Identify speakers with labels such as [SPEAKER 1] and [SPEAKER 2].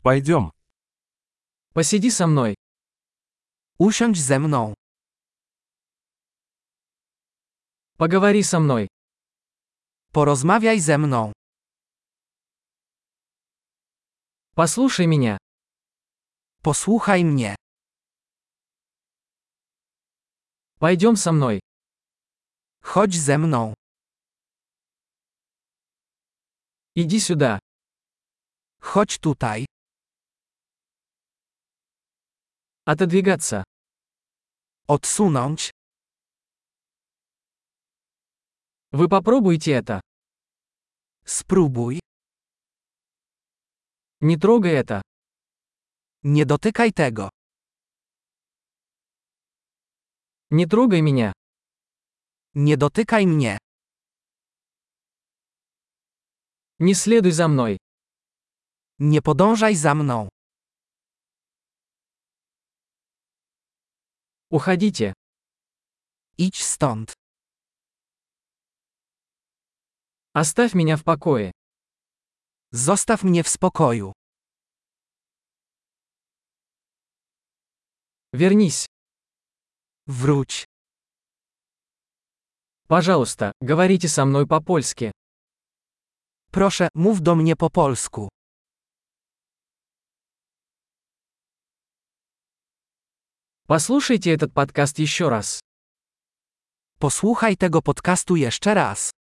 [SPEAKER 1] Пойдем.
[SPEAKER 2] Посиди со мной.
[SPEAKER 3] Usiądź ze mną.
[SPEAKER 2] Поговори со мной.
[SPEAKER 3] Porozmawiaj ze mną.
[SPEAKER 2] Послушай меня.
[SPEAKER 3] Posłuchaj mnie.
[SPEAKER 2] Пойдем со мной.
[SPEAKER 3] Chodź ze mną.
[SPEAKER 2] Иди сюда.
[SPEAKER 3] Chodź tutaj.
[SPEAKER 2] Отодвигаться.
[SPEAKER 3] Odsunąć.
[SPEAKER 2] Вы попробуйте это.
[SPEAKER 3] Spróbuj.
[SPEAKER 2] Не трогай это.
[SPEAKER 3] Nie dotykaj tego.
[SPEAKER 2] Не трогай меня.
[SPEAKER 3] Nie dotykaj mnie.
[SPEAKER 2] Не следуй за мной.
[SPEAKER 3] Nie podążaj za mną.
[SPEAKER 2] Уходите.
[SPEAKER 3] Idź stąd.
[SPEAKER 2] Оставь меня в покое.
[SPEAKER 3] Zostaw mnie w spokoju.
[SPEAKER 2] Вернись.
[SPEAKER 3] Wróć.
[SPEAKER 2] Пожалуйста, говорите со мной по-польски.
[SPEAKER 3] Proszę, mów do mnie po polsku.
[SPEAKER 2] Послушайте этот подкаст еще раз.
[SPEAKER 3] Posłuchaj tego podcastu jeszcze raz.